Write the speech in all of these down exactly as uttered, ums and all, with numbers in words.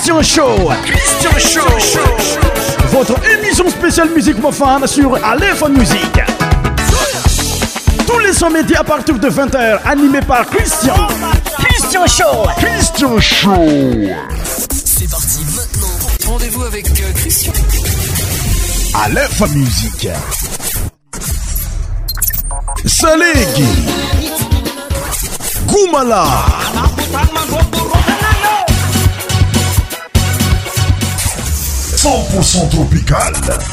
Christian Show. Christian Show. Votre émission spéciale musique mofane sur Aléphone Musique. Tous les sons médias à partir de vingt heures, animé par Christian. Christian Show. Christian Show. C'est parti maintenant. Rendez-vous avec euh, Christian. Aléphone Musique. Salegi. Goumala. cent pour cent tropical.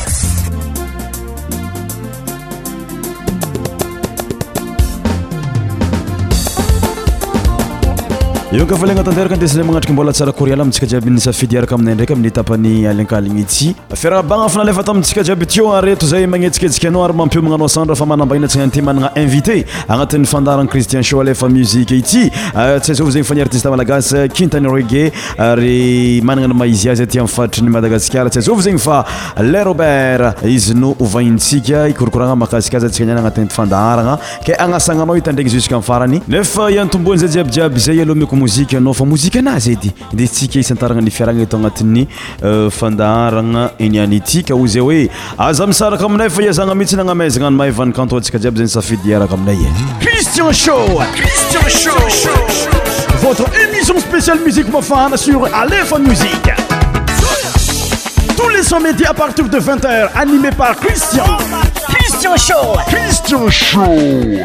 Io ka falenga tanteraka ndesina magnatrika mbola tsara koriala amintsika jiaby ny safidy araka aminay ndraiky amin'ny tapany alinkaligny ity fiarabagna fanalefa tamintsika jiaby tio areto zay magnetsiketsika anao ary mampio magnano sandra fa manambahina tsy ty managna invité agnatin'ny fandaran'ny Christian Show alefa musique ity tsy zao zegny fa ny artiste malagasy Kintany Reggae ary managna ny maizy azy aty amin'ny faritry ny Madagasikara tsy zao zegny fa le Robert izy no ovaintsika ikorokoragna makasika azy atsika niana agnatin'ny fandaragna ke agnasagnanao hitandregny jusqu'à farany nefa iantombony zay jiaby jiaby zay alomeko muzika anao fa muzika anazy edy ndesitsika isantaragna ny fiaragna eto agnatin'ny fandaharagna eniany ity ka ho zay hoe aza misaraka aminay fa iazagna mihitsy nagnamezagna ny mahevan'ny kanto atsika jiaby zay ny safidy iaraka aminay Christian Show. Christian Show. Votre émission spéciale musique mofane sur Aléphone Musique. Tous les sons médias à partir de vingt heures, animé par Christian. Christian Show. Christian Show.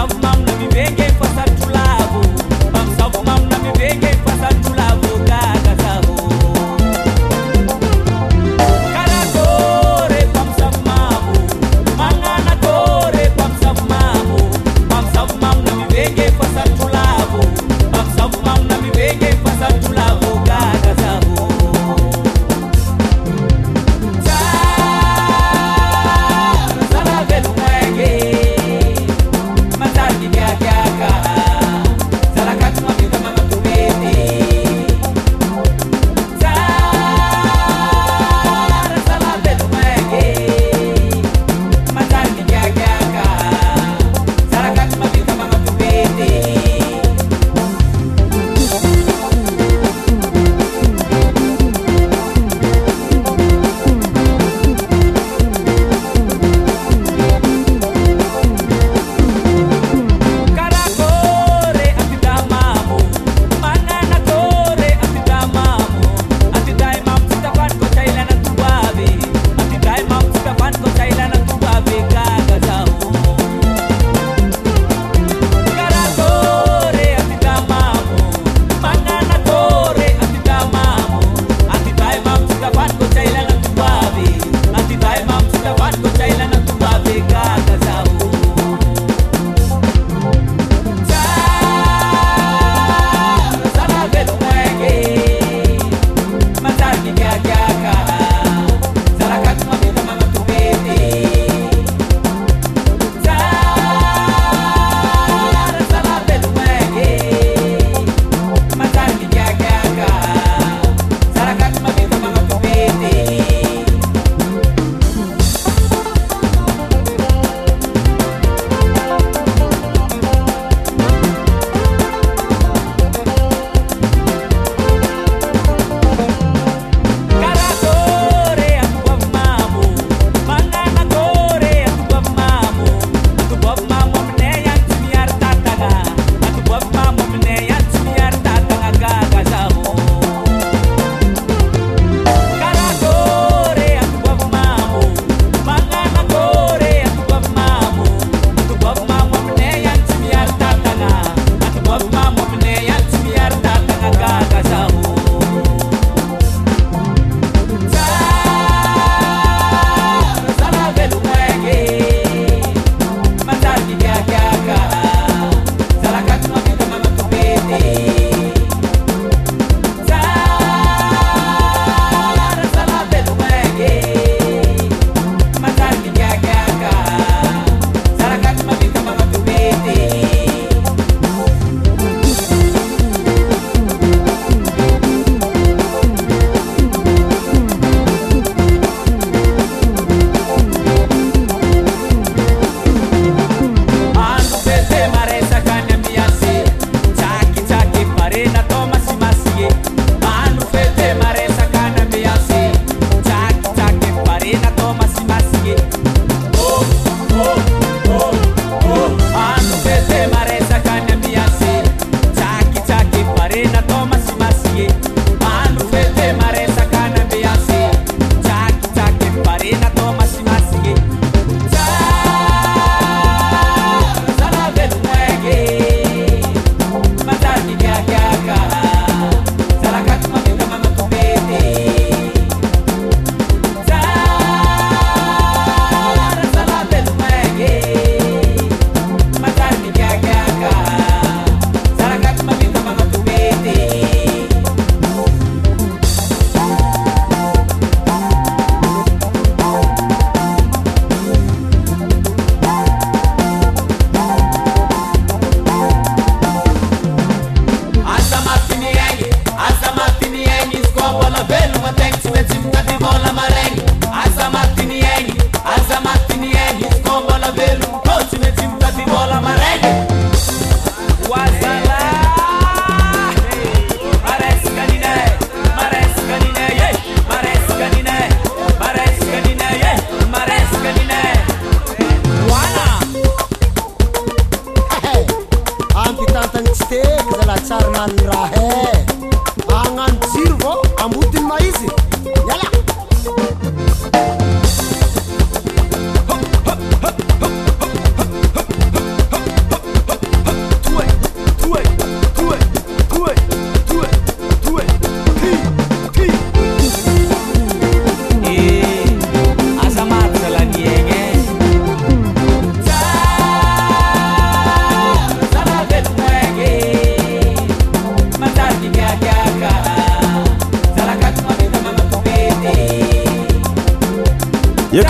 Pam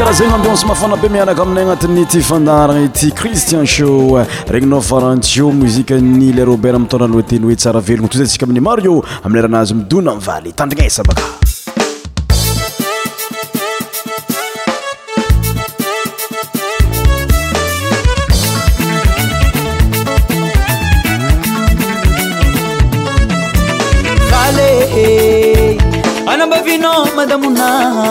karaha zegny ambiance mafana be miaraka aminay agnatin'ny ty fandaragna ity Christian Show regninao farantio muzikany le Robert mitondra ny teny hoe tsara velogno toy zay tsika amin'ny Mario amin'ny leranazy midona mivaly tandrignesa baka Anambavino madamuna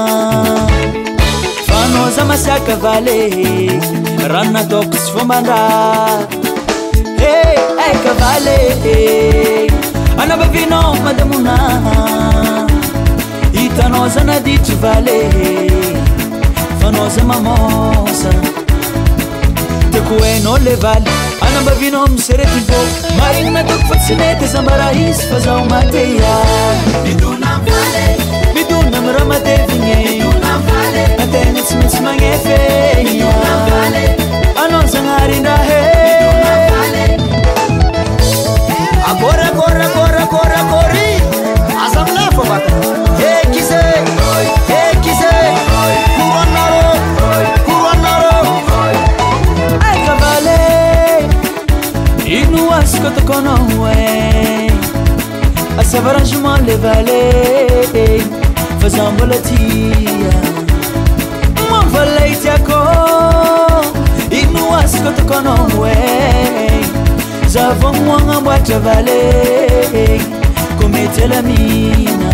Fanoza masaka vale Ranna tokus fomandra Hey, hey kavale Anambavino madamuna Itanoza na ditu vale Fanoza mamosa Tekueno le vale Anambavino msereti vo Marina tok fatsinete zambara is fazao mateia Miduna vale Miduna mramate vinye Miduna vale Atene tsmits mangefe Miduna vale Anon sangarinda he Miduna vale Agora, agora, agora, agora, agora Azam lefo baka Hey kise Hey kise Kuwanaro Kuwanaro Ay kavale Inu asko to kono we Asavarajement le valet Faisant volatia Mon valet tiako Inu asko to kono we Zavon mwanga mwata valet Komete la mina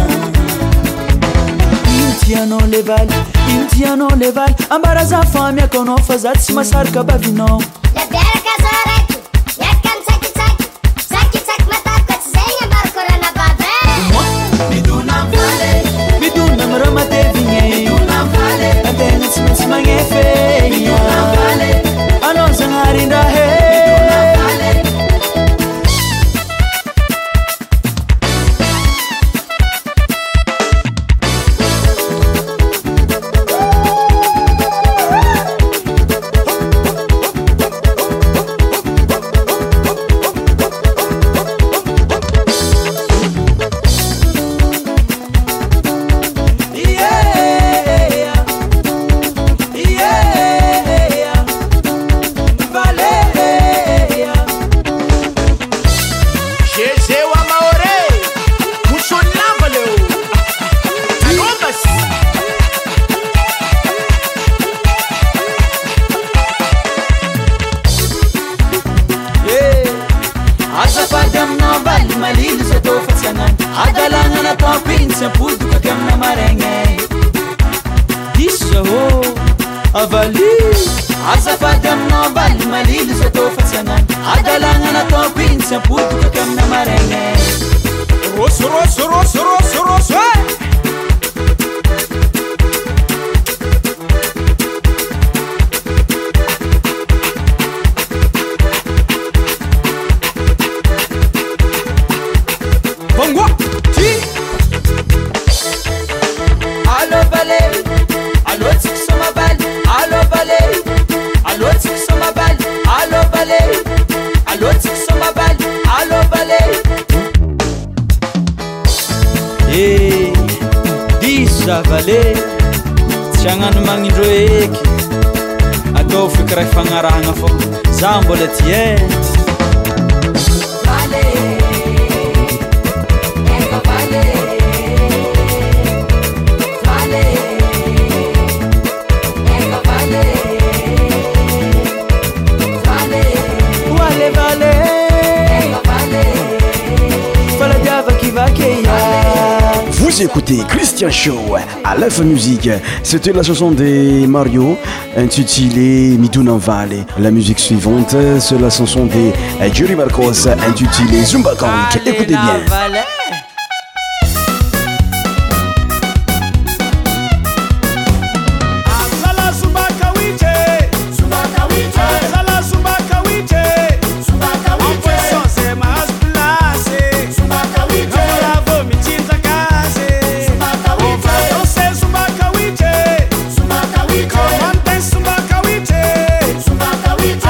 Intiano le val Intiano le val Ambaraza famia kono fazat si masarka bavino La terra casarete Yakan saki saki Saki saki matako tzenga barkora na babe Miduna vale Miduna mramate vinye Miduna vale Atene tsmits mangefe Miduna vale Anon sangarinda he Miduna vale Vale Tiagnano magnindro eky Atao fikira fagnarahagna fô Za mbola tie Vale Eka vale Vale Eka vale Vale Vale vale Eka vale Fala diava qui va che Vous écoutez Christian Show à l'F Musique. C'était la chanson de Mario intitulée Miduna Vale. La musique suivante, c'est la chanson de Jerry Marcos intitulée Zumba Kong. Écoutez bien.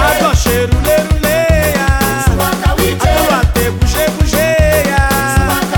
Cheiro, leiro, leia. Agora te buge, bugeia.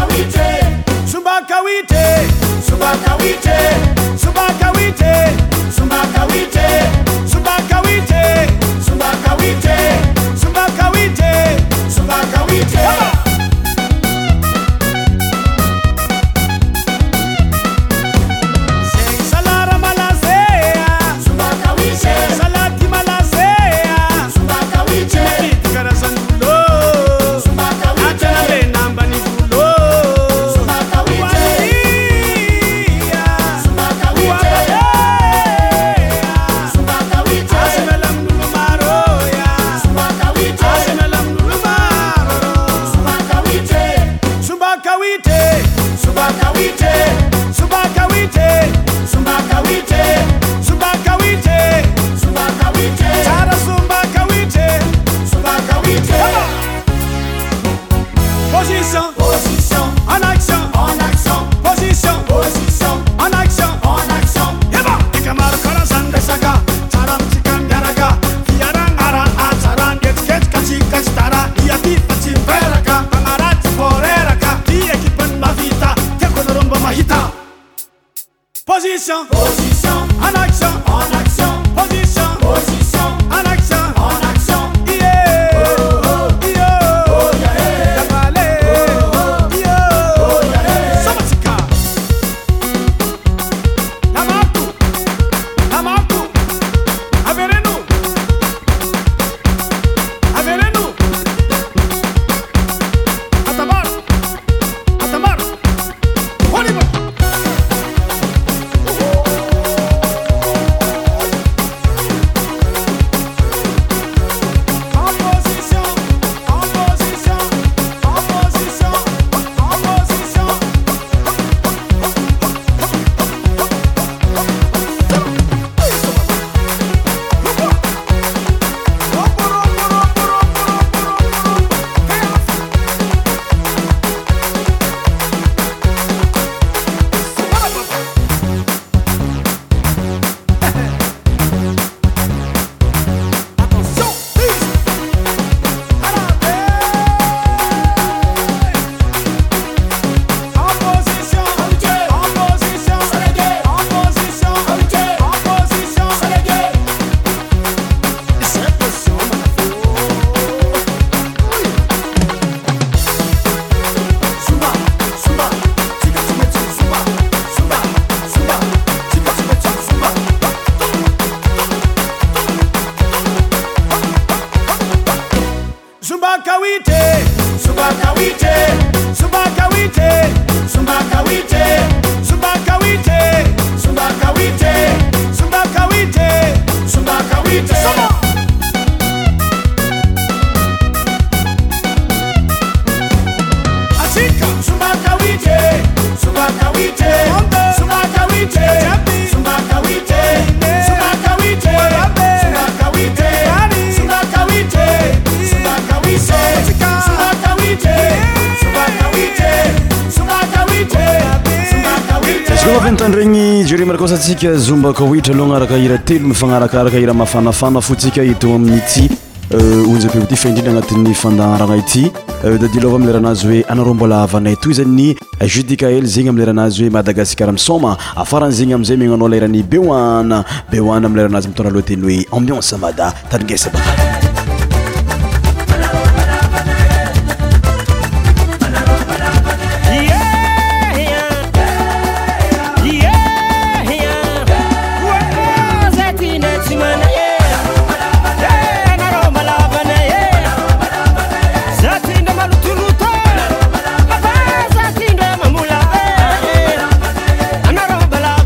Regny jure marakaosatsika zomba kawitra aloha araka hira telo mifagnarakaraka hira mafanafana fotsika ito amin'ny ity onjape ty fa indrindra agnatin'ny fandaharagna ity dadilova amin'ny leranazy hoe anareo mbola havanay toy zany Judicael zegny amin'ny leranazy hoe Madagascar misoma afaran'zegny amizay megnanao lerany Beoana Beoana amin'ny leranazy mitondra lohateny hoe ambiance mada tadingesa baka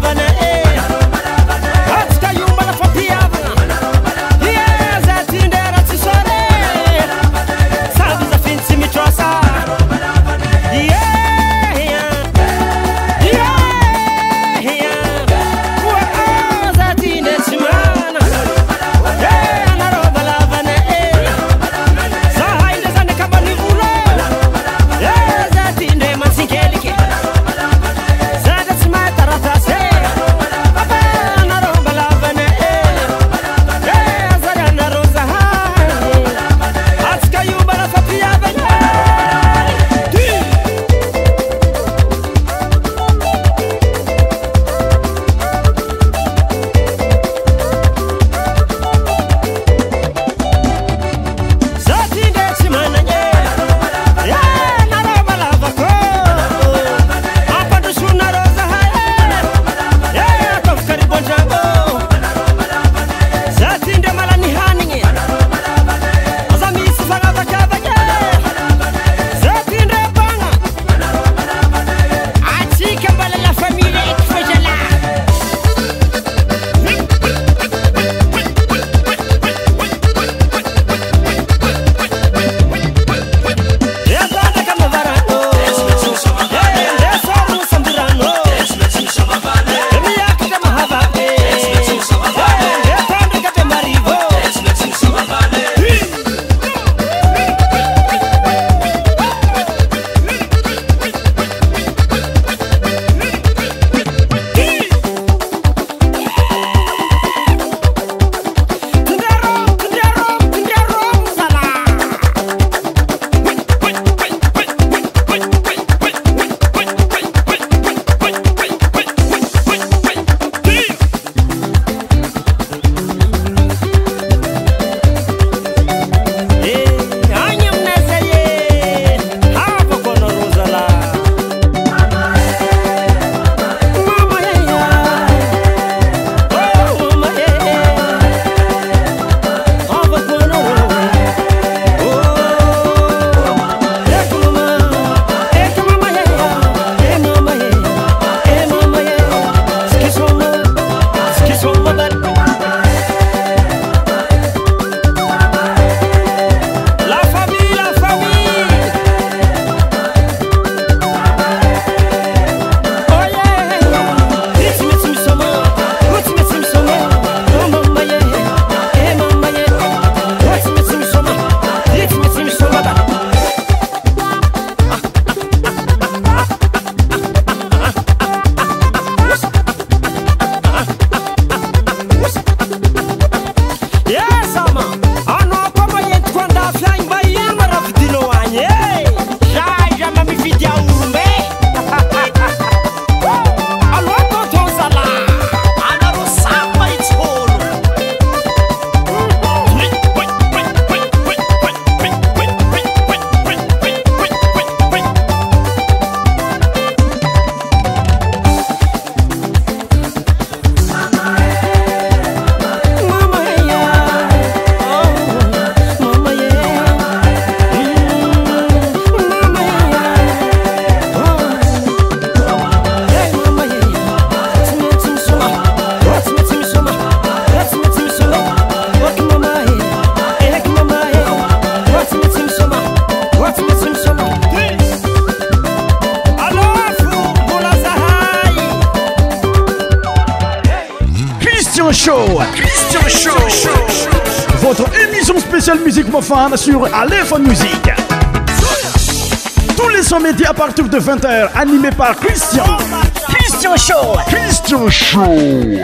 Tindera Christian Show. Votre émission spéciale musique mofane sur Aléphone Musique. Tous les sons médias à partir de vingt heures, animé par Christian. Christian Show. Christian Show.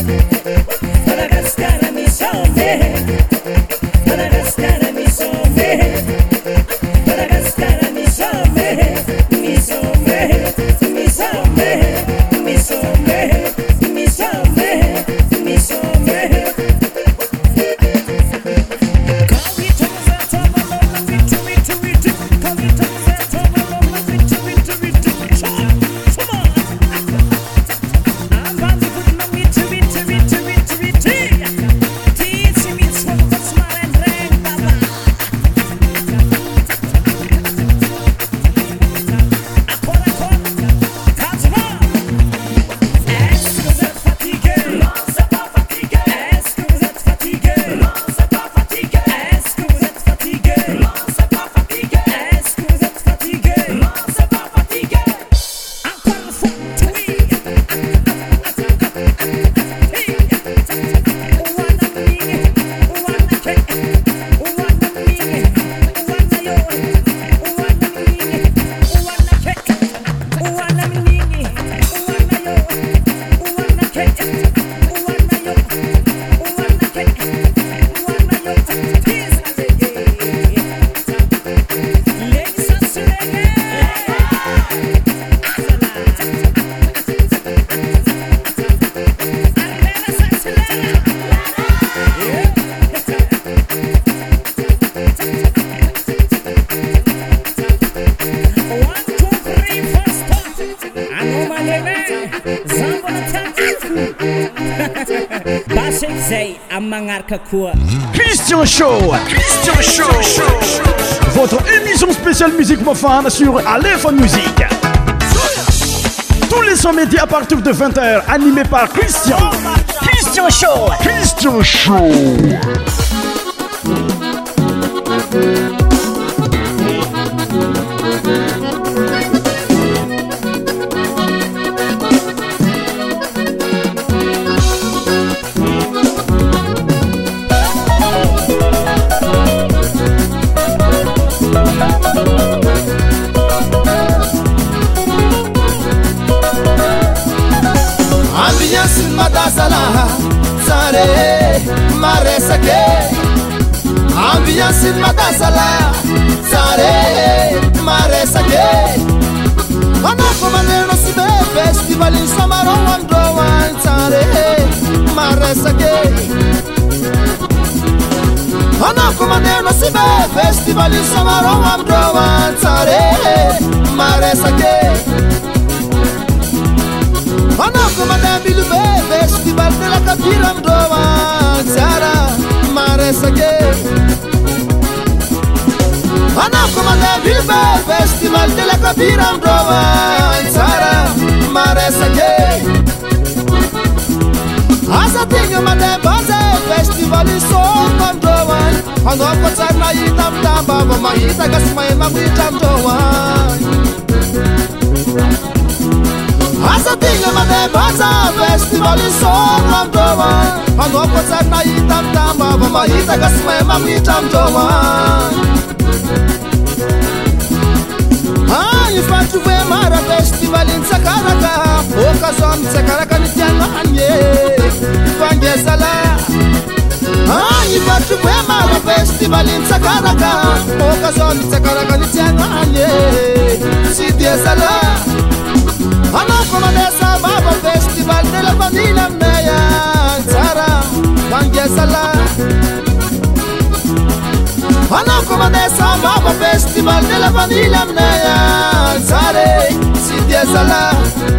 Christian Show, Christian Show, votre émission spéciale musique profane sur Aléphone Musique. Tous les sons médias à partir de vingt heures, animés par Christian. Christian Show, Christian Show. Ambiance in Madasala, Sare, Maresake. Anako maneno sibe festival in Samaro Wandowan, Sare, Maresake. Anako maneno sibe festival in Samaro Wandowan, Sare, Maresake. Anako maneno bilbe festival de la Kabira Mdowan, Sara, Maresake. Anako manda bilbe festival de la Kabira Mdowan, Sara Maresake. Asa tinga manda baze festival in Soma Mdowan. Anoko tsarna itam tamba mama ita gasmai mamita Mdowan. Asa tinga manda baze festival in Soma Mdowan. Anoko tsarna itam tamba mama ita gasmai mamita Mdowan. Ah, il faut trouver Mara Festival in Sakaraka. Occasion Sakaraka ni tianganye. Fangezala. Ah, il faut trouver Mara Festival in Sakaraka. Occasion Sakaraka ni tianganye. Si diesala. Ana comanesa Baba Festival de la Vanilla Meya. Sara Fangezala. Ana comanesa Baba Festival de la Vanilla Meya. Sare, si diesala.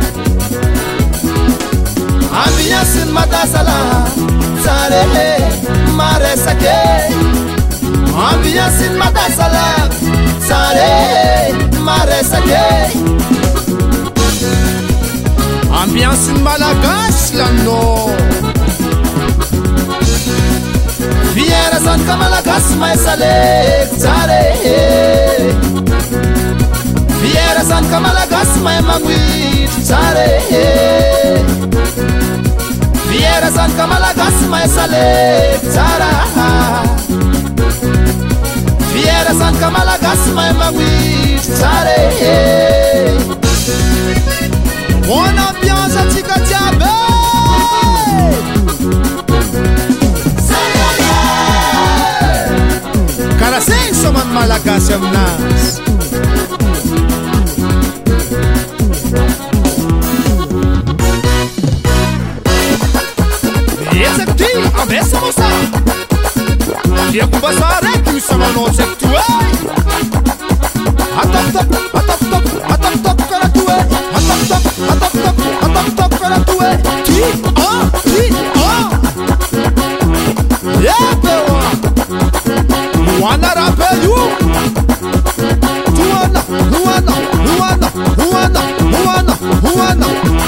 Ambiance in Madasala. Sare, Maresake. Ambiance in Madasala. Sare, Maresake. Ambiance in Malagas, l'anno. Fiera San Kamalagas, mai salek, Sare. Fiera San Kamalagas, mai manguit, Sare. Fiera San Kamalagas, mai salek, Sara. Fiera San Kamalagas, mai manguit, Sare. Buona ambiance a Tika Tiabe. malagasy aminazy esaky ty ambesa mosa diakombasa raiky misy amanao tsaky ty e atapitap atapitap atapitap karaha ty e atapitap atapitap atapitap karaha ty e ty ah ty ah ebe oa moana raha be io toana moana moana moana moana moana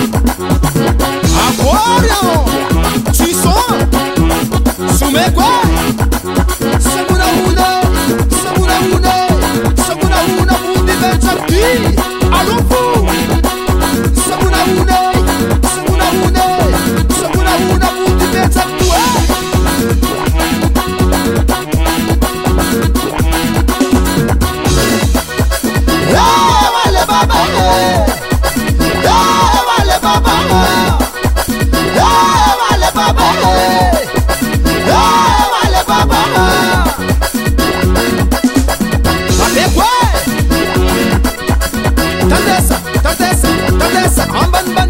akory ao Chison, sumekwe, sabuna una, sabuna una, sabuna una, mundi benchakti, alufu, sabuna una, sabuna una, sabuna una, mundi benchakti. Yeah, wale baba, yeah, wale baba. Baba, hey, wale baba, ate kwe, tandesa, tandesa, tandesa, amban ban.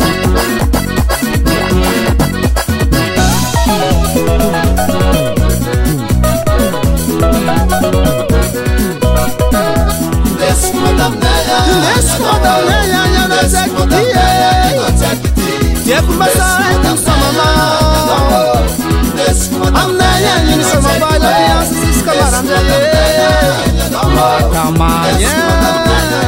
Laisse madame Neya, laisse madame Neya, yana zekti, tiep masai tu samama. I'm not young, so my body is coming. Come on, yeah.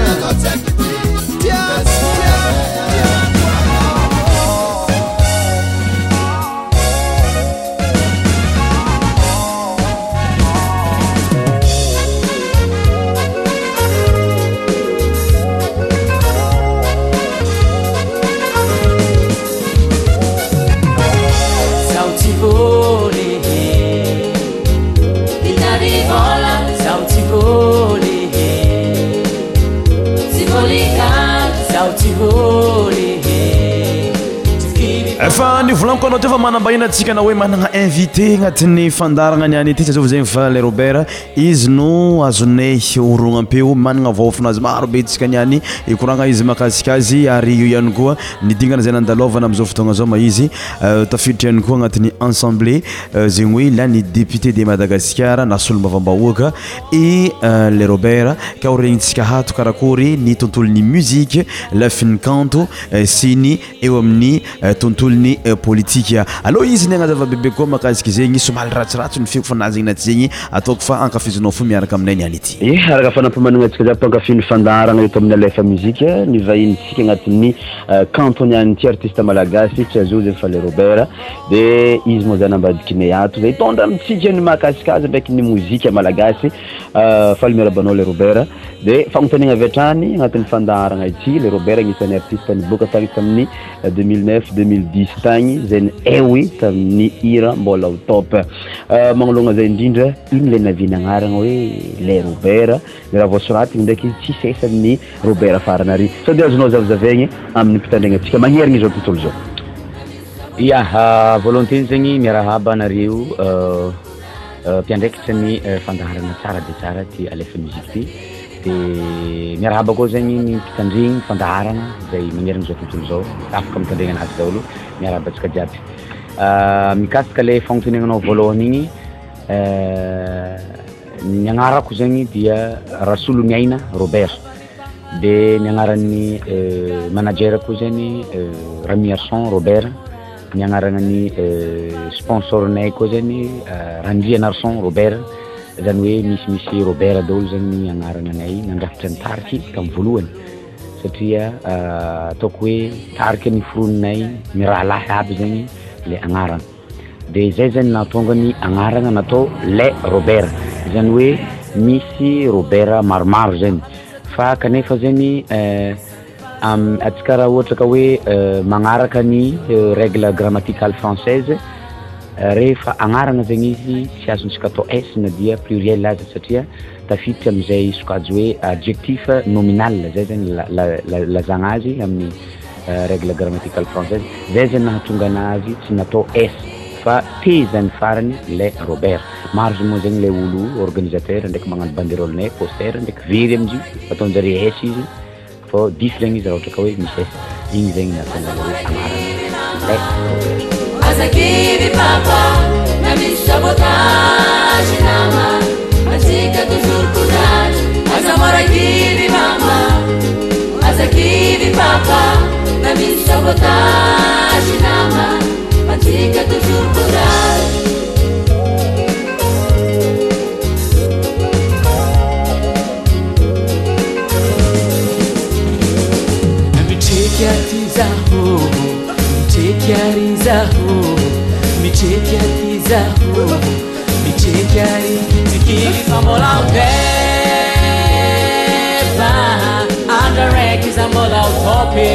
Efa nivolaniko anao teo fa manambahina antsika na hoe manana invité agnatin'ny fandaragna niany ity satria zegny fa le Robert izy no azonay orognam-peo managna vaofinazy maro be tsika niany ikoragna izy makasika azy ary io ihany koa nidingana zay nandalovana am'izao fotoagna zao ma izy tafiditra ihany koa agnatin'ny assemblée zegny hoe ilany député de Madagascar na solom-bavambahoaka i le Robert ka horegnitsika hato karakory ny tontolon'ny musique lafin'ny kanto sy ny eo amin'ny tontolo ny politika alo izy ny agnazava bebe koa makasika zegny somali ratsiratsy ny fiako fanazy igny naty zegny ataoko fa ankafizinao fo miaraka aminay niany ity e araka fanampamanagna atsika za mpankafiny fandaragna eto amin'ny alefa muzika ny vahinitsika agnatin'ny canton niany ty artiste malagasy tsy azo zegny fa le Robert de izy moa zany ambadikinay ato zay tondra amitsika ny makasika azy ndraiky ny muzika malagasy faly miarabanao le Robert de fagnontaniagna avy hatrany agnatin'ny fandaragna ity le Robert agnisan'ny artiste niboaka tagny tamin'ny deux mille neuf deux mille dix tagny zay ewi tamin'ny hira mbola au top magnologna zay indrindra iny le navina agnaragna hoe le Robert le raha voasoratra ndraiky izy tsy sesa amin'ny Robert farany ary sao de azonao zavazavaigny amin'ny mpitandregna atsika magnerigny izao tontolo zao ya volonté zegny miarahaba anareo mpiandraikitra ny fandaharana tsara de tsara ty alefa musique ty de miarahaba koa zegny ny mpitandregny fandaharana zay magnerigny zao tontolo zao afaka mitandregna anazy daholo miarahaba atsika jiaby mikasika le fagnontaniagnanao voalohany igny ny agnarako zegny dia Rasolo Miaina Robert de ny agnaran'ny manager koa zegny Ramiarson Robert ny agnarany sponsornay koa zegny Randria Narson Robert zany hoe misy misy Robert daholo zegny agnarana anay nandrafitra ny tariky tamin'ny voalohany satria ataoko hoe tariky ny forononay mirahalahy aby zegny le agnarana de zay zany nahatonga ny agnarana natao le Robert zany hoe misy Robert maromaro zany fa kanefa zany am atsika raha ohatra ka hoe magnaraka ny règle grammaticale française rehefa agnarana zegny izy tsy azontsika atao s na dia pluriel azy satria tafiditra am'izay sokajy hoe adjectif nominal zay zany lazagna azy amin'ny règle grammaticale française zay zany nahatonga anazy tsy natao s fa tezany farany le Robert maro moa zegny le olo organisateur ndraiky magnano banderole poster ndraiky very amizio ataonjare S izy fo diso zegny izy raha ohatra ka hoe misy S igny zegny natonga hoe amarany le Robert. Azakiri papa na misy sabotage nama atsika toujours courage azamorakiri mama azakiri papa na misy sabotage nama atsika toujours courage. Micheky atizaho micheky arizaho micheky atizaho micheky ari tikiri famola upepa andareki zamola utope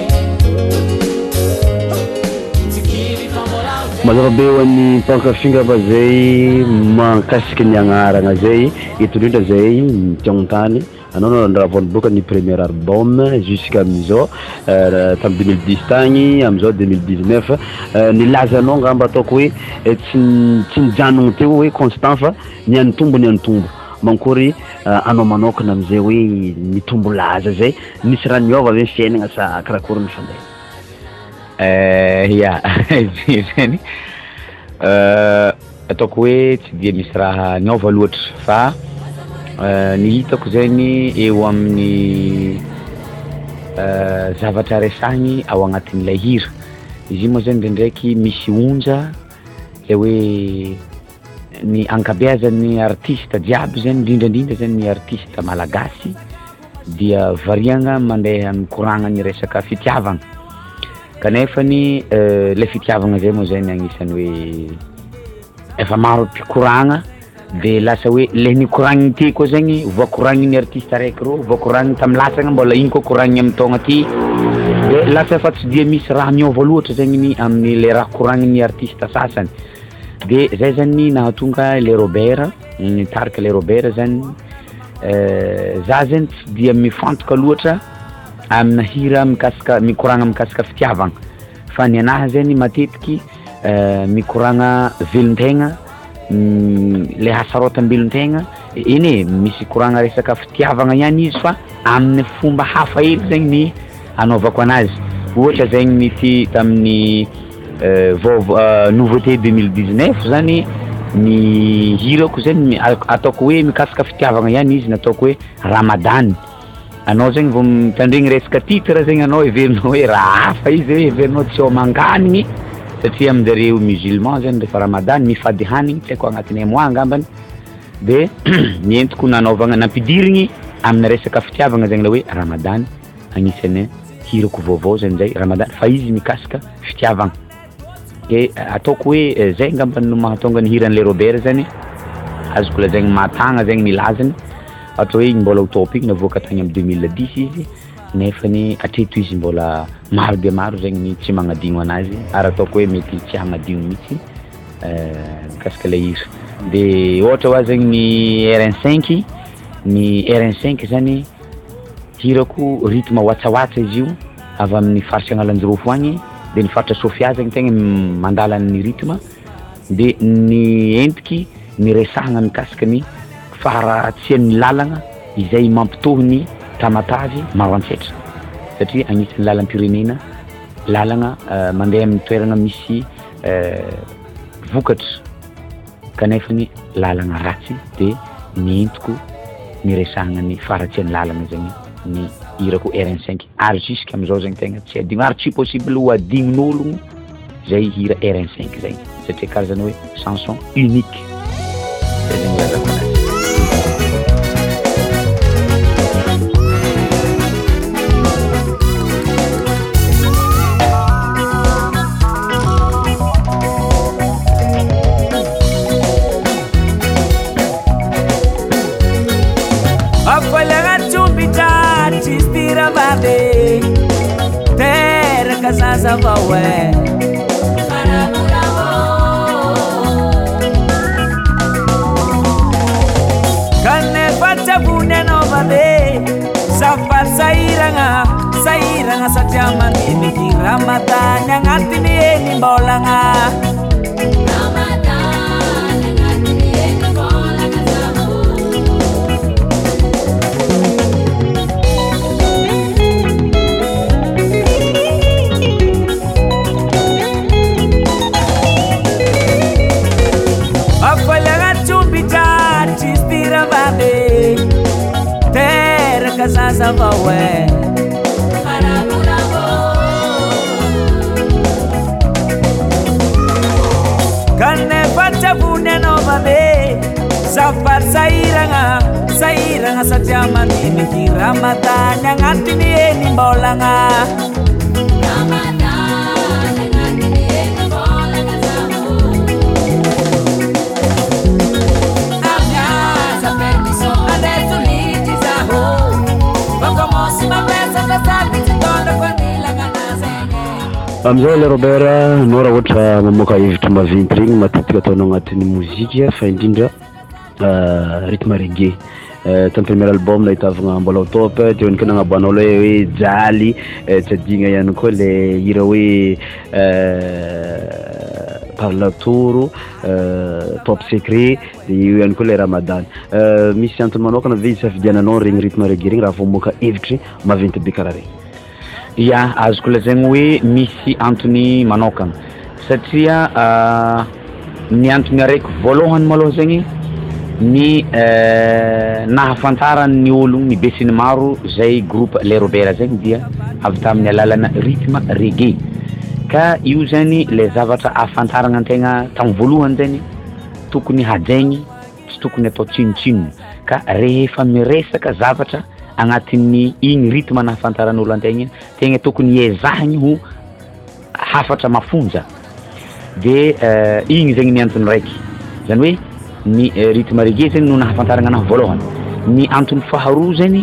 tikiri famola upepa mazava be hoan'ny mpankafingana fa zay mankasiky ny agnarana zay eto indrindra zay tiagnontany anao nandraha voaloboka ny premier album jusqu'à amizao tam deux mille dix tagny amizao deux mille dix-neuf nilazanao ngamba ataoko hoe tsy tsy nijanogno teo hoe constant fa niany tombo niany tombo mankory anao manokana amizay hoe mitombo laza zay nisy raha niova ave fiainagna sa karakory ny fandeha? ya zany ataoko hoe tsy dia misy raha niova loatra fa ny hitako zegny eo amin'ny zavatra resahigny ao agnatin'ilay hira izy moa zany ndraindraiky misy onja le hoe ny ankabeazan'ny artiste jiaby zany indrindrandrindra zany ny artiste malagasy dia variagna mandeha mikoragna ny resaka fitiavagna kanefany le fitiavagna zay moa zany agnisan'ny hoe efa maro mpikoragna de lasa hoe le nikoragny ty koa zegny voakoragny ny artiste araiky ro voakoragny tamy lasagna mbola igny koa koragny amy taogna ty de lasa fa tsy dia misy raha miova loatra zegny ny amin'ny le raha koragny ny artiste sasany de zay zany nahatonga le Robert nitarika le Robert zany za zany tsy dia mifantoka loatra amina hira mikasika mikoragna mikasika fitiavagna fa ny anahy zany matetiky mikoragna velontegna le hasarotam-belontegna iny misy koragna resaka fitiavagna ihany izy fa amin'ny fomba hafa hely zegny ny anaovako anazy ohatra zegny nity tamin'ny nouveauté deux mille dix-neuf zany ny hirako zany ataoko hoe mikasika fitiavagna ihany izy nataoko hoe Ramadan anao zegny vao mitandregny resaka titre zegny anao heverinao hoe raha hafa izy hoe heverinao tsy homanganigny satria aminjareo musulman zany rehefa Ramadan mifady hanigny tsy haiko agnatin'ny mois angambany de nientiko nanaovagna nampidirigny amina resaka fitiavagna zegny la hoe Ramadan agnisan'ny hirako vaovao zany zay Ramadan fa izy mikasika fitiavagna ke ataoko hoe zay ngambany no mahatonga ny hiran'le Robert zany azoko lazaigny matagna zegny nilazany ohatra hoe mbola utopie navoaka tagny amy deux mille dix izy nefany atreto izy mbola maro dia maro zegny tsy magnadigno anazy ary ataoko hoe mety tsy hagnadigno mihitsy mikasika le hira de ohatra hoa zegny ny R cinq ny R cinq zany hirako rythme watsawaatsa izy io avy amin'ny farsy agnalanjirofo agny de ny faritra Sofia zegny tegna mandala ny rythme de ny entiky ny resahagna mikasika ny faharatsian'ny lalagna izay mampitohy ny tamatavy maro antsetra satria agnisan'ny lalam-pirenena lalagna mandeha amin'ny toerana misy vokatra kanefany lalagna ratsy de ny entiko ny resahagna ny faharatsian'ny lalagna zegny ny hirako R cinq ary jusque amizao zegny tegna tsy adigno ary tsy possible ho adignin'ologno zay hira R cinq zegny satria karazany hoe chanson unique zay zegny lazako anazy. Terra casa vawe Kane facha bune no vade Safar sairanga Sairanga satya mani Miki Ramadan Yang atini eni bolanga mazava we kanefa chavune no babe safar sairanga sairanga satya mani mikira matanya ngatini eni mbolanga amizay le Robert no raha ohatra mamoaka hevitra maventy regny matetika ataonao agnatin'ny mozika fa indrindra rythme reggae tamin'ny premier album nahitavagna mbola top teo ny nagnaboanao le hoe jaly tsy adigna ihany koa le hira hoe parlatoro top secret io ihany koa le Ramadan misy antony manokana ve isafidiananao regny rythme reggae regny raha vao mamoaka hevitry maventy be karaha regny? Ya azoko lazaigny hoe misy antony manokana satria ny antony araiky voalohany maloha zegny ny nahafantarany olo ny be sy ny maro zay groupe le Robert zegny dia avy tamin'ny alalana rythme reggae ka io zany le zavatra ahafantarana antegna tamin'ny voalohany zany tokony hajaigny tsy tokony atao tsinotsinona ka rehefa miresaka zavatra agnatin'ny igny rythme nahafantaran'olo antegna tegna tokony ezahigny ho hafatra mafonja de igny zegny ny antony raiky zany hoe ny rythme reggae zegny no nahafantarana anahy voalohany. Ny antony faharoa zegny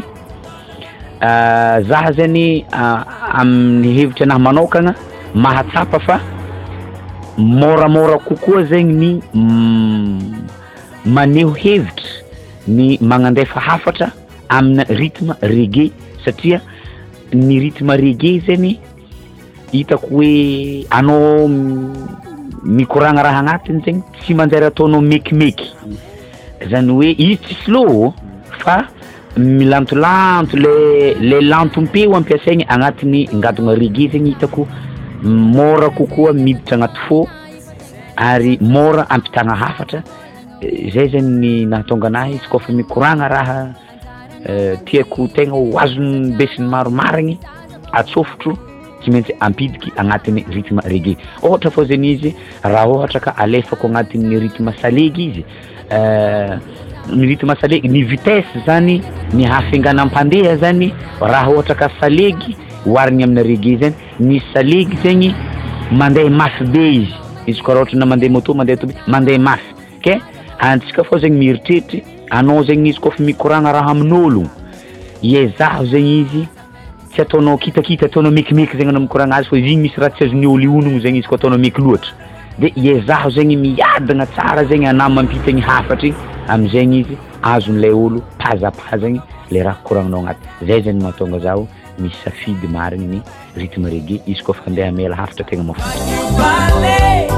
zaha zegny amin'ny hevitra anahy manokana mahatsapa fa moramora kokoa zegny ny maneho hevitra ny magnandefa hafatra amina rythme reggae satria ny rythme reggae zany hitako hoe anao mikoragna raha agnatiny zegny tsy manjary ataonao mekimeky zany hoe izy tsy slow fa milantolanto le le lantompeo ampiasaigny agnatiny ngadona reggae zegny hitako mora kokoa miditra agnaty fo ary mora ampitagna hafatra zay zany ny nahatonga anahy izy kofa mikoragna raha tiako tegna ho azony be sy ny maro marigny atsofotro tsy maintsy ampidiky agnatiny rythme reggae. Ohatra fô zany izy raha ohatra ka alefako agnatiny rythme salegy izy ny rythme salegy ny vitesse zany ny hafinganam-pandeha zany raha ohatra ka salegy oharigny amina reggae zany ny salegy zegny mandeha mafy be izy izy koa raha ohatra na mandeha moto mandeha tobi mandeha mafy ke antsika fô zegny mieritreritra anao zegny izy kofa mikoragna raha amin'olo iezaho zegny izy tsy ataonao kitakita ataonao mekimeky zegny anao mikoragna azy fa igny misy raha tsy azon'ny olo ionogno zegny izy koa ataonao meky loatra de iezaho zegny miadagna tsara zegny anao mampita igny hafatra igny amizegny izy azon'ilay olo pazapazagny le raha koragninao agnaty zay zany mahatonga zaho misy safidy marigny ny rythme reggae izy koa fa andeha amela hafatra tegna mafonja.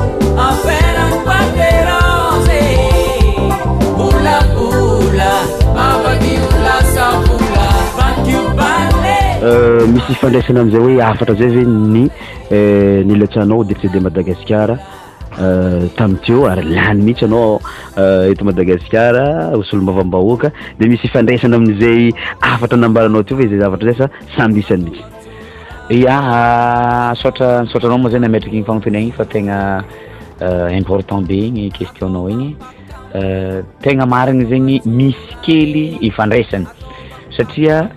misy fandraisana amizay hoe hafatra zay zany ny nilatsanao décédé Madagasikara tamin'ny teo ary lany mihitsy anao eto Madagasikara solom-bavambahoaka de misy fandraisana amin'izay hafatra nambaranao teo fa zay zavatra zay sa samby isany mihitsy. Ya sotra sotranao moa zany ametraky igny fagnontaniagna igny fa tegna important be igny questionnao igny tegna marigny zegny misy kely ifandraisany satria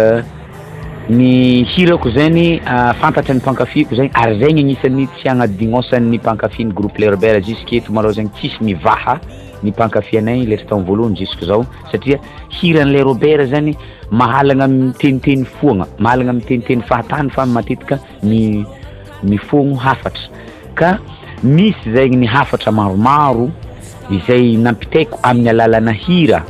ny hirako zany fantatra ny mpankafiko zany ary zegny agnisan'ny tsy agnadinosan'ny mpankafiny groupe le Robert jusqu'eto malao zegny tsisy mivaha ny mpankafy-anay le tamin'ny voalohany jusque zao satria hiran'le Robert zany mahalagna miteniteny foagna mahalagna miteniteny fahatany fa matetika ny mifogno hafatra ka misy zegny ny hafatra maromaro izay nampitaiko amin'ny alalana hira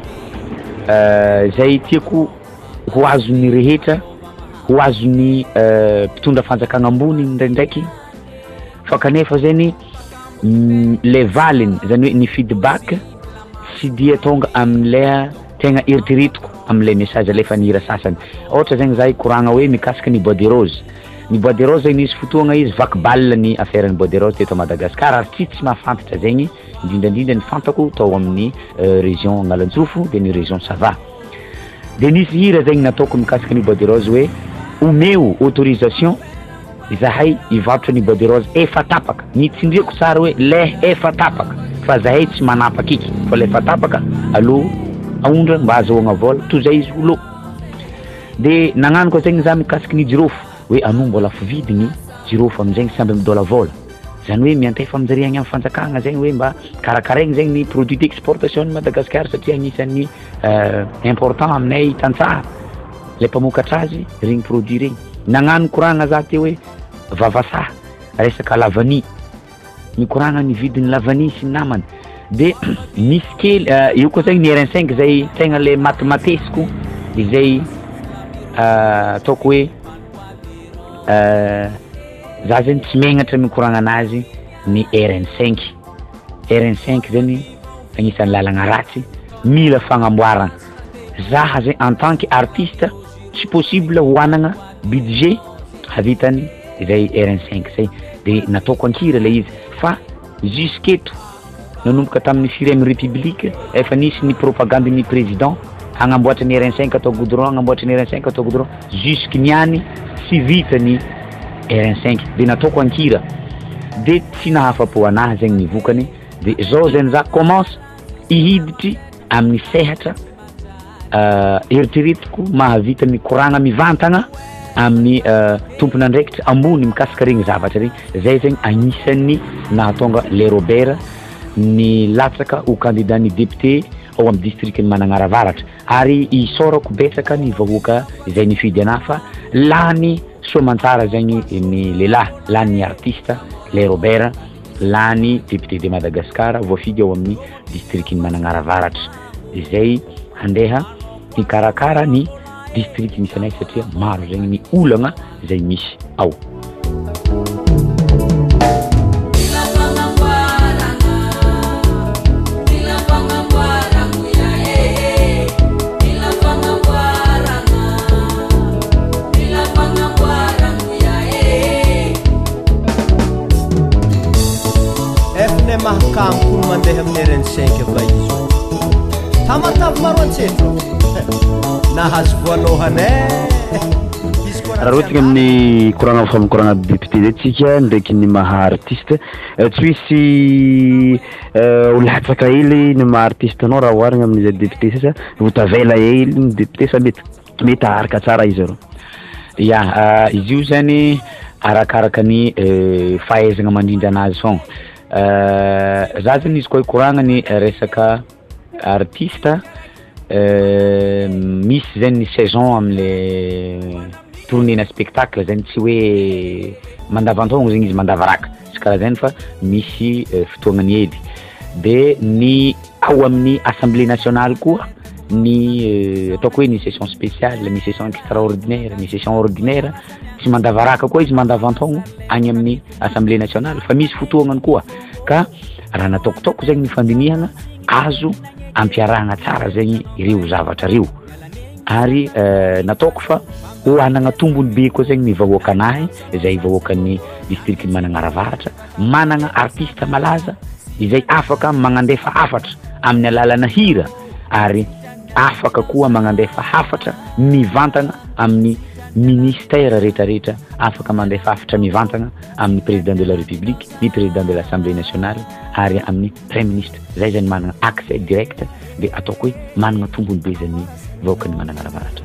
zay tiako ho azon'ny rehetra ho azon'ny mpitondra fanjakagna ambony ndraindraiky fa kanefa zany le valiny zany hoe ny feedback sy dia tonga amin'ilay tegna eritreretiko amin'ilay message alefa ny hira sasany. Ohatra zegny zahay koragna hoe mikasika ny Bois de Rose ny Bois de Rose zegny nisy fotoagna izy vaky bal ny affaire ny Bois de Rose teto Madagasikara ary tsy tsy mahafantatra zegny indrindrandrindra ny fantako tao amin'ny région Analantsofo de ny région Sava de nisy hira zegny nataoko mikasika ny Bois de Rose hoe omeo autorisation zahay ivarotra ny Bois de Rose efa tapaka nitsindriako tsara hoe le efa tapaka fa zahay tsy manapaka iky fa le efa tapaka alo aondra mba azahoagna vola toy zay izy olo de nagnano koa zegny za mikasika ny jirofo hoe anao mbola fividigny jirofo amizegny samby midola vola zany hoe miantefa aminjare agny amin'ny fanjakagna zegny hoe mba karakaraigny zegny ny produit d'exportation ny Madagascar satria agnisan'ny important aminay tantsaha le mpamokatra azy regny produit regny nagnano koragna za teo hoe vavasaha resaka lavany mikoragna ny vidiny lavany sy namany de misy kely io koa zegny ny R cinq zay tegna le matematesiko izay ataoko hoe za zegny tsy megnatra mikoragna anazy ny R cinq R cinq zany agnisan'ny lalagna ratsy mila fagnamboarana zaha zegny en tant que artiste tsy possible hoanagna budget havitany izay R cinq zay de nataoko ankira le izy fa jusqu'eto nanomboka tamin'ny firème république efa nisy ny propagande ny président hagnamboatra ny R cinq atao goudron hagnamboatra ny R cinq atao goudron jusque niany sy vitany R cinq de nataoko ankira de tsy nahafapo anahy zegny nivokany de zao zany za commence ihiditry amin'ny sehatra eritreretiko mahavita mikoragna mivantagna amin'ny tompon'andraikitra ambony mikasika regny zavatra regny zay zegny agnisan'ny nahatonga le Robert ny latsaka ho candidat ny député ao amin'ny district ny Managaravaratra ary isorako betsaka ny vahoaka izay nifidy anahy fa lany soamantsara zegny ny lehilahy lany artiste le Robert lany député de Madagascar voafidy ao amin'ny district ny Managaravaratra izay handeha hikarakara ny district misy anay satria maro zegny ny olagna zay misy ao efne mahakampony mandeha amin'ny R cinq fa izy tamatavy maro antsetra nahazo voalohany raha ohatsika amin'ny koragna famokoragna député zay tsika ndraiky ny maha artiste tsy misy olatsaka hely ny maha artiste anao raha oharigna amin'izay député sasa votavela hely ny député sa mety mety aharaka tsara izy aro ya izy io zany arakaraka ny fahaizagna mandrindra anazy fogna za zany izy koa koragna ny resaka artiste misy zany ny saison am'le tournée na spectacle zany tsy hoe mandavantaogno zegny izy mandavaraka tsy karaha zany fa misy fotoagnany hely de ny ao amin'ny assemblée nationale koa ny ataoko hoe ny session spéciale ny session extraordinaire ny session ordinaire tsy mandavaraka koa izy mandavantaogno agny amin'ny assemblée nationale fa misy fotoagnany koa ka raha nataokotoko zegny ny fandinihana azo ampiarahagna tsara zegny ireo zavatra reo ary nataoko fa hoanagna tombony be koa zegny ny vahoaka anahy izay vahoakan'ny district ny Managaravaratra managna artiste malaza izay afaka magnandefa hafatra amin'ny alalana hira ary afaka koa magnandefa hafatra mivantagna amin'ny ministère rehetrarehetra afaka mandefa hafatra mivantagna amin'ny président de la république ny président de l'assemblée nationale ary amin'ny premier ministre zay zany managna accès direct de ataoko hoe managna tombony be zany vahoakan'ny Managaravaratra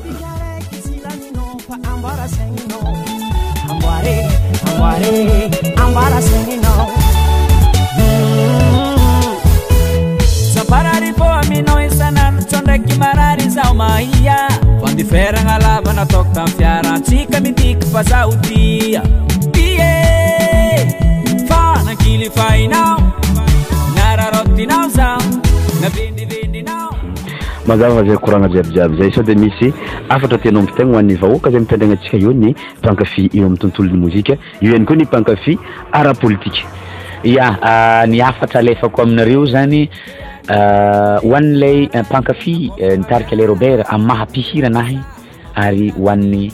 Sapararipo aminao isanandro tsondraiky marary zao mahia fandiferagna lavana toko tam fiarantsika mitiky fa zahodia ie fa nankily fainao nararotinao zao navendivendinao mazava zay koragna jiabijiaby zay sao de misy afatra tianao ampitegna ho an'ny vahoaka zay mitandregna antsika io ny pankafy eo amin'ny tontolon'ny mozika io ihany koa ny pankafy ara-politique ya ny afatra alefako aminareo zany ho an'ilay pankafy nitarika le Robert amin'ny mahampihira anahy ary ho an'ny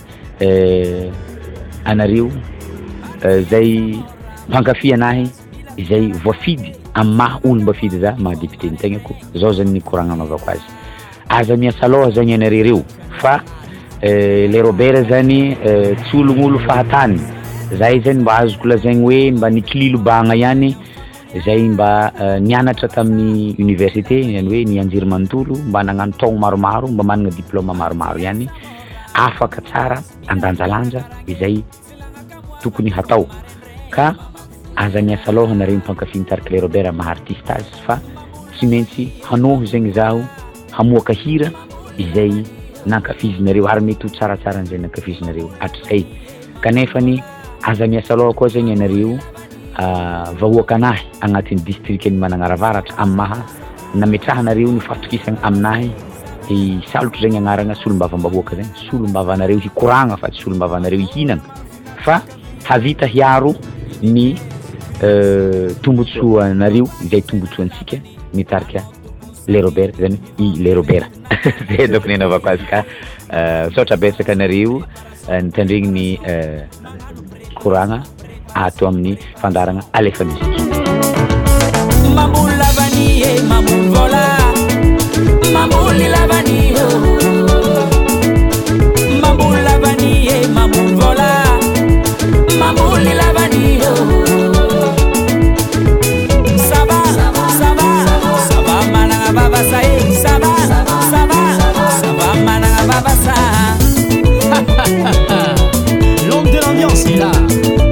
anareo zay pankafy anahy izay voafidy amin'ny maha olo mba fidy za maha député ny tegnako zao zany ny koragna anaovako azy aza miasa loha zagny anareo fa le Robert zany tsy ologn'olo fahatany zay zany mba azoko lazaigny hoe mba nikililo bagna ihany zay mba nianatra tamin'ny université yani hoe nianjery manontolo mba nagnano taogno maromaro mba managna diplôme maromaro ihany afaka tsara andanjalanja izay tokony hatao ka aza miasa loha nareo mipankafy mitariky le Robert maha artiste azy fa tsy maintsy hanoho zegny zaho hamoaka hira izay nankafizinareo ary mety ho tsaratsara an'izay nankafizinareo hatrizay kanefany aza miasa loha koa zegny ianareo vahoaka anahy agnatin'ny districtny Managnaravatra amin'ny maha nametrahanareo ny fahatokisana aminahy salotro zegny agnarana solombavam-bahoaka zegny solombavanareo hikoragna fa tsy solombavanareo hihinana fa havita hiaro ny tombotsoanareo izay tombotsoantsika mitarika le Robert zany i le Robert zay donc ny anaovako azy ka misaotra betsaka anareo nitandregny ny koragna ato amin'ny fandaragna alefa musique mamboly lavany e mamboly vola mamboly lavany mamboly lavany e mamboly vola mamboly lavany saba saba saba managna vavasa e saba saba saba managna vavasa l'homme de l'ambiance est là.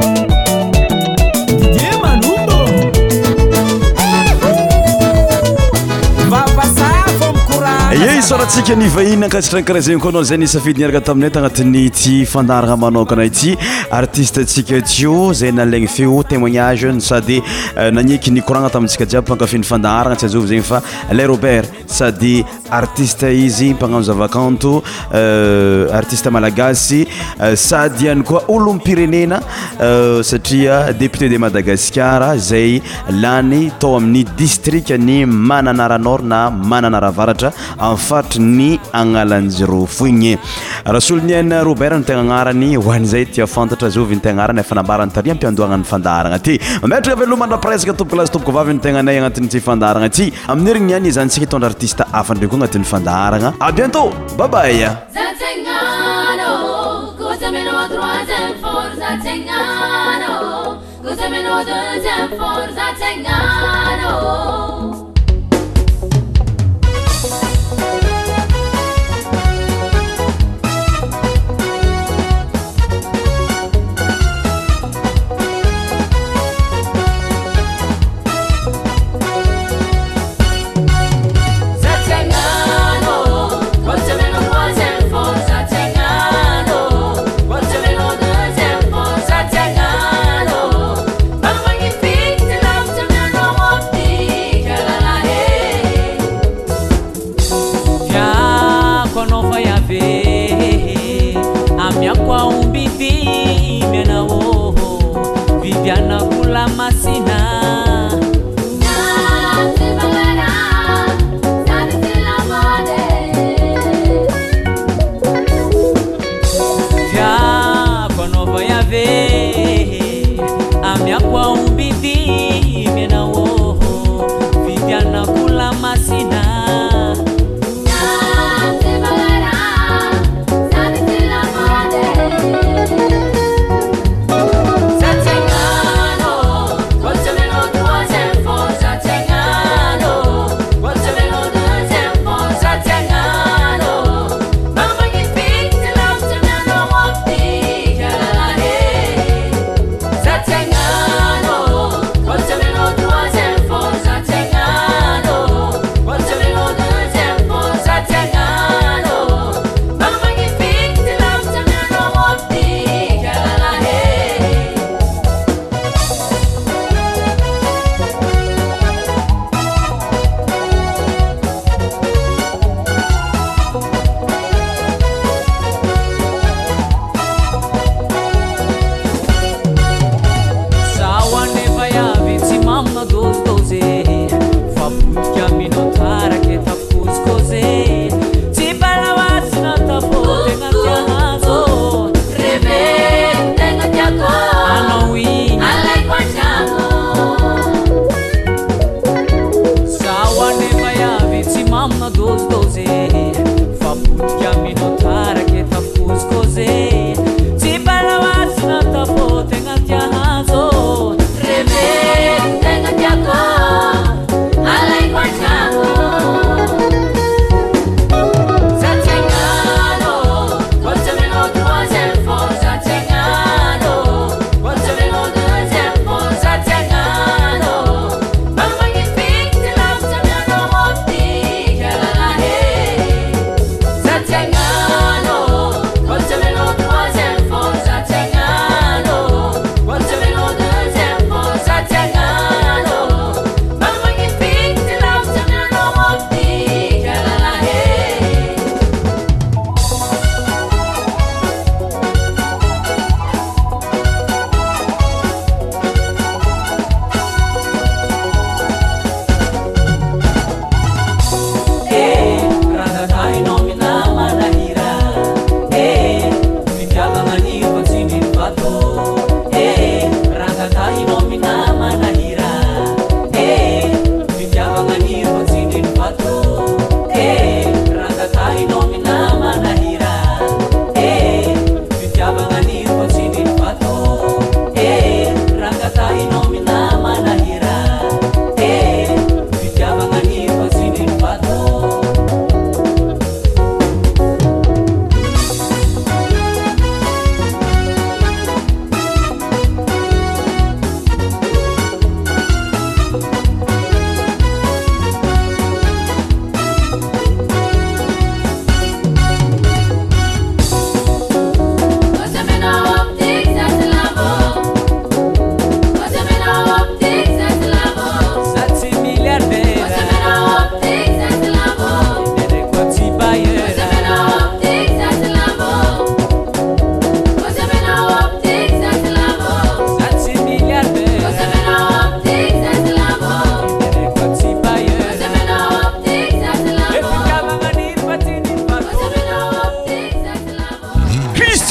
Yey soratsika ny vahiny ankasitrany karaha zegny koa anao zay nisafidy niaraka taminay tagnatin'ny ty fandaragna manokana ity artiste tsika tio zay nalaigny feo témoignage sady nagniky nikoragna tamintsika jiaby mpankafy ny fandaragna tsy azovy zegny fa le Robert sady artiste izy mpagnano zavakanto artiste malagasy sady ihany koa olom-pirenena satria député de Madagascar zay lany tao amin'ny district ny Mananara Nord na Mananara Avaratra en fait ny agnalanjiro foigny rasoloniana Robert ny tegna agnarany ho an'izay tia fantatra zovy ny tegna agnarany efa nambarany taria ampiandohagna ny fandaragna ty mametraka velomandra presque tompoko lasy tompoko vavy ny tegnanay agnatin'ny ty fandaragna ty amin'ny herigny ihany izantsika hitondra artiste hafa ndraiky koa agnatin'ny fandaragna à bientôt bye bye Thank you.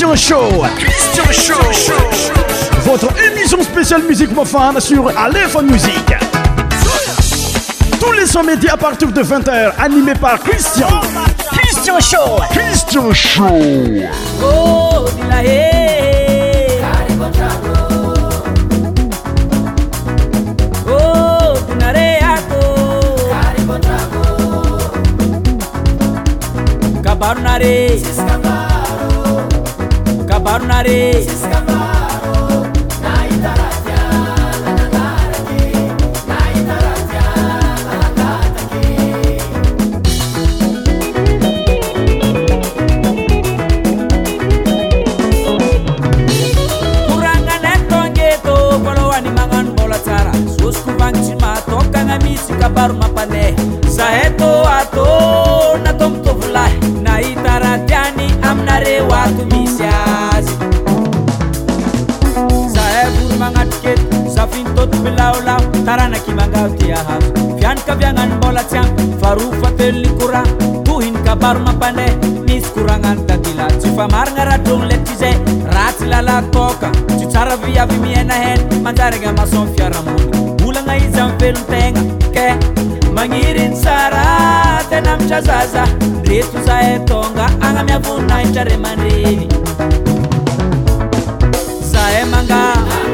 Christian Show. Christian Show. Votre émission spéciale musique profane sur Aléphone Musique. Tous les sons médias à partir de vingt heures, animé par Christian. Christian Show. Christian Show. Oh, dilahe. Oh, dinareato. Cabarnare. Cabarnare. Kabaru mapane saheto ato na tom tovlahi na itaratiani amnare watu misiazi sahebu mangatket safintot bilaulau tarana kimangauti ahaf fian kabyangan bola tiang farufa telikura tuhin kabaru mapane mis kurangan tatila cifamar ngaradong letize ratilala toka cucara via vimiena hen mandarega mason fiaramuni ulanga izam feluntenga ke mangirin sara tenam chazaza retu zaetonga anga miavuna inchare mandini sae manga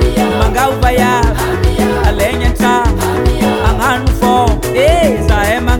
manga ubaya alenya cha anga nufo eh sae